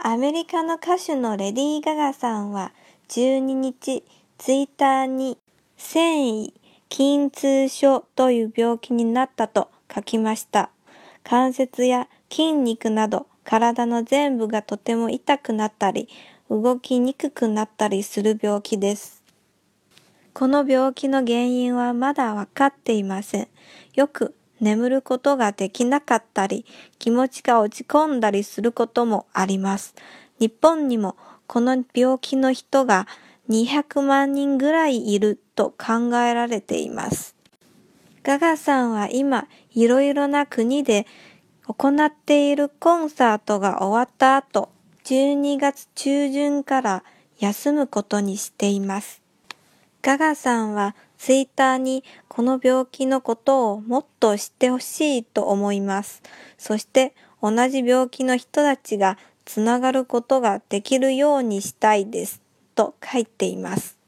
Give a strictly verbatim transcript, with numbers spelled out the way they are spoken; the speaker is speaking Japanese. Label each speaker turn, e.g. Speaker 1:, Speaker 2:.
Speaker 1: アメリカの歌手のレディー・ガガさんはじゅうににち、ツイッターに繊維筋痛症という病気になったと書きました。関節や筋肉など体の全部がとても痛くなったり、動きにくくなったりする病気です。この病気の原因はまだわかっていません。よく眠ることができなかったり、気持ちが落ち込んだりすることもあります。日本にもこの病気の人がにひゃくまんにんぐらいいると考えられています。ガガさんは今、いろいろな国で行っているコンサートが終わった後、じゅうにがつちゅうじゅんから休むことにしています。ガガさんはツイッターにこの病気のことをもっと知ってほしいと思います。そして同じ病気の人たちがつながることができるようにしたいですと書いています。